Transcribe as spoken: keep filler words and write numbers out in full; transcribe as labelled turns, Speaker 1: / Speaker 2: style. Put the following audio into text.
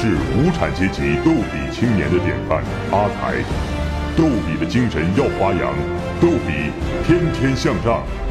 Speaker 1: 是无产阶级逗比青年的典范阿才。逗比的精神要发扬，逗比天天向上。